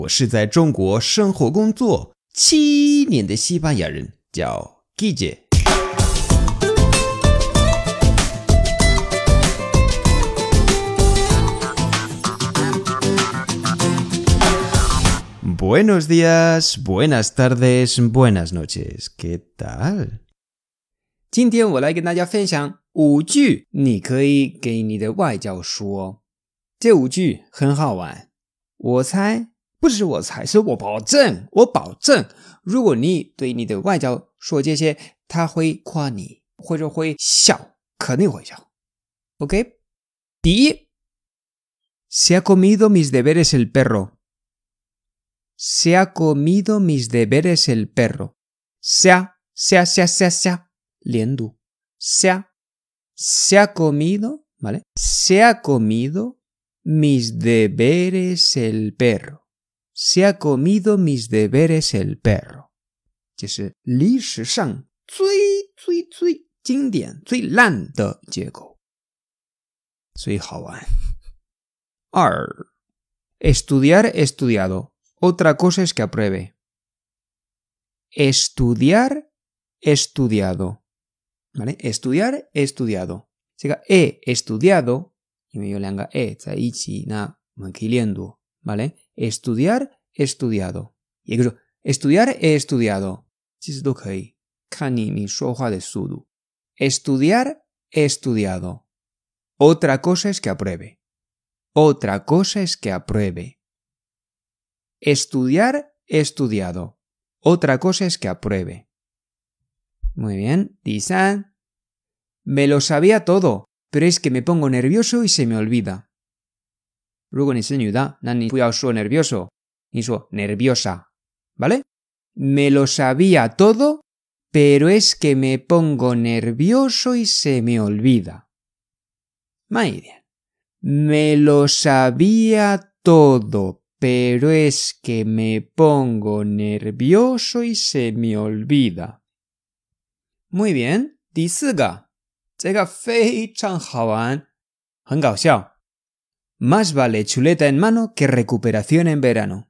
我是在中国生活工作7年的西班牙人，叫 Guille。Buenos días, buenas tardes, buenas noches. ¿Qué tal? 今天我来跟大家分享5句你可以给你的外教说。这5句很好玩。不是我猜，是我保证，如果你对你的外教说这些，他会夸你，或者会笑，肯定会笑。OK？ 第一 Se ha comido mis deberes el perro. Se ha comido mis deberes el perro. Se ha 连读 se ha comido, ¿vale? Se ha comido mis deberes el perro. Se ha comido mis deberes el perro. 这是历史上最经典最烂的结构，所以好玩。2 Estudiar estudiado. Otra cosa es que apruebe. Estudiar estudiado. ¿Vale? Estudiar estudiado. 这个 estudiado 因为有两个 在一起，那我们可以连读 ¿vale? Estudiar estudiado. 也就是说 estudiar estudiado 其实都可以，看你说话的速度。Estudiar estudiado. Otra cosa es que apruebe. Otra cosa es que apruebe. Estudiar estudiado. Otra cosa es que apruebe. Muy bien. 第3 Me lo sabía todo, pero es que me pongo nervioso y se me olvida. 如果你是女的，那你不要说 nervioso, 你说 nerviosa, ¿vale? Me lo sabía todo, pero es que me pongo nervioso y se me olvida. 慢一点 Me lo sabía todo, pero es que me pongo nervioso y se me olvida. Muy bien. 第4个，这个非常好玩，很搞笑。Más vale chuleta en mano que recuperación en verano.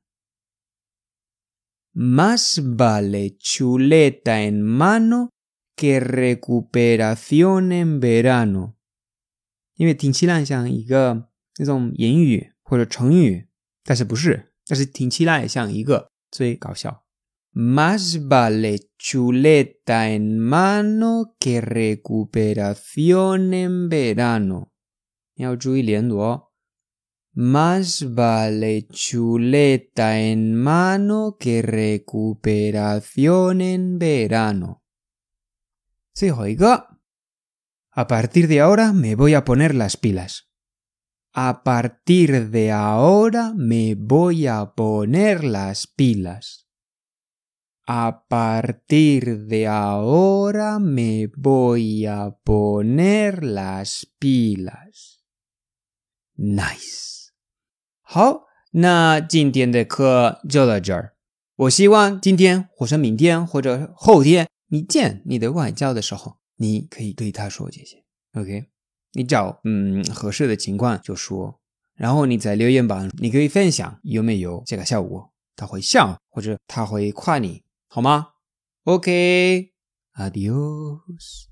Más vale chuleta en mano que recuperación en verano. 因为听起来像一个那种言语或者成语，但是不是，但是听起来像一个，所以搞笑。Más vale chuleta en mano que recuperación en verano. 你要注意连读哦。Más vale chuleta en mano que recuperación en verano. 最后一个 A partir de ahora me voy a poner las pilas. A partir de ahora me voy a poner las pilas. A partir de ahora me voy a poner las pilas. Nice. 好，那今天的课就到这儿。我希望今天或者明天或者后天你见你的外教的时候，你可以对他说这些。OK？ 你找合适的情况就说，然后你在留言板你可以分享有没有这个效果，他会笑或者他会夸你。好吗 ？OK， Adios。